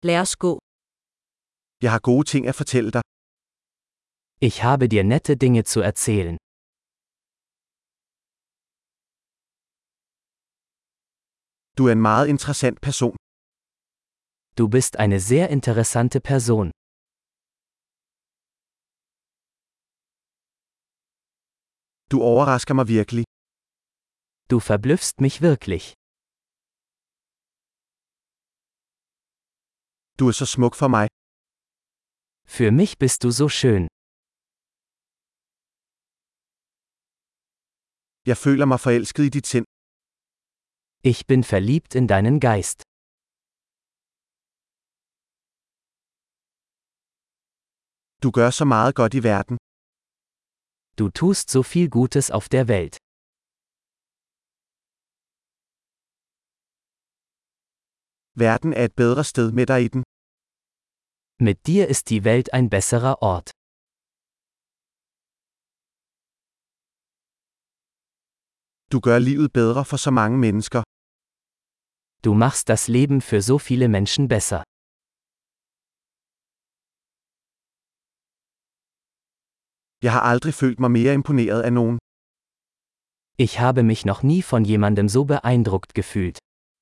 Lad os gå. Jeg har gode ting at fortælle dig. Ich habe dir nette Dinge zu erzählen. Du er en meget interessant person. Du bist eine sehr interessante Person. Du overrasker mig virkelig. Du verblüffst mich wirklich. Du er så smuk for mig. Für mich bist du so schön. Jeg føler mig forelsket i dit sind. Ich bin verliebt in deinen Geist. Du gør så meget godt i verden. Du tust so viel Gutes auf der Welt. Verden er et bedre sted med dig i den. Mit dir ist die Welt ein besserer Ort. Du gør livet bedre for så mange mennesker. Du machst das Leben für so viele Menschen besser. Jeg har aldrig følt mig mere imponeret af nogen. Ich habe mich noch nie von jemandem so beeindruckt gefühlt.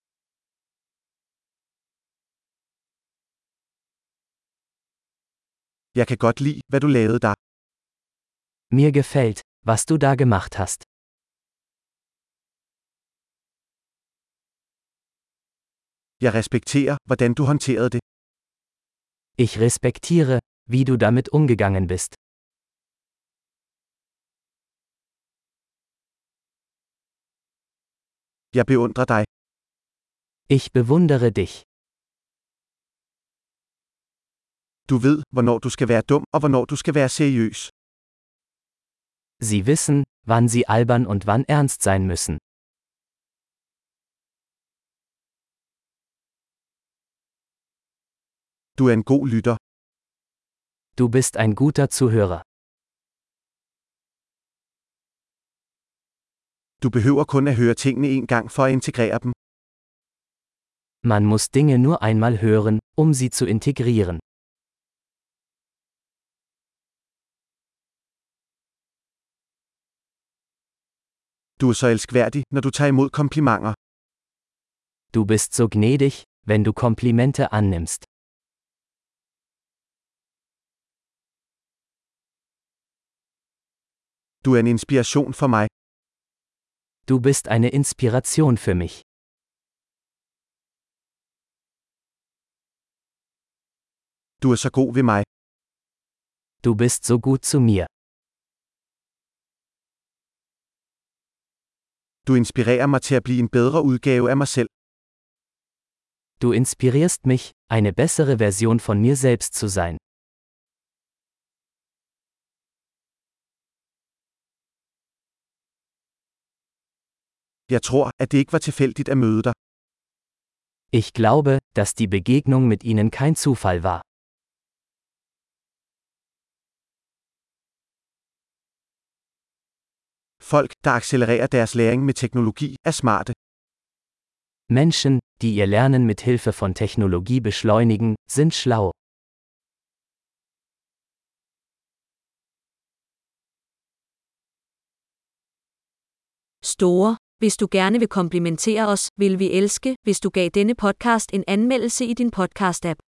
Jeg kan godt lide, hvad du lavede der. Mir gefällt, was du da gemacht hast. Jeg respekterer, hvordan du håndterede det. Ich respektiere, wie du damit umgegangen bist. Jeg beundrer dig. Ich bewundere dich. Du ved, hvornår du skal være dum og hvornår du skal være seriøs. Sie wissen, wann sie albern und wann ernst sein müssen. Du er en god lytter. Du bist ein guter Zuhörer. Du behøver kun at høre tingene en gang for at integrere dem. Man muss Dinge nur einmal hören, um sie zu integrieren. Du er så elskværdig, når du tager imod komplimenter. Du bist so gnädig, wenn du Komplimente annimmst. Du er en inspiration for mig. Du bist eine Inspiration für mich. Du er så god ved mig. Du bist so gut zu mir. Du inspirerer mig til at blive en bedre udgave af mig selv. Du inspirierst mich, eine bessere Version von mir selbst zu sein. Jeg tror, at det ikke var tilfældigt at møde dig. Ich glaube, dass die Begegnung mit ihnen kein Zufall war. Folk, der accelererer deres læring med teknologi, er smarte. Menschen, die ihr Lernen mit Hilfe von Technologie beschleunigen, sind schlau. Store. Hvis du gerne vil komplimentere os, vil vi elske, hvis du gav denne podcast en anmeldelse i din podcast-app.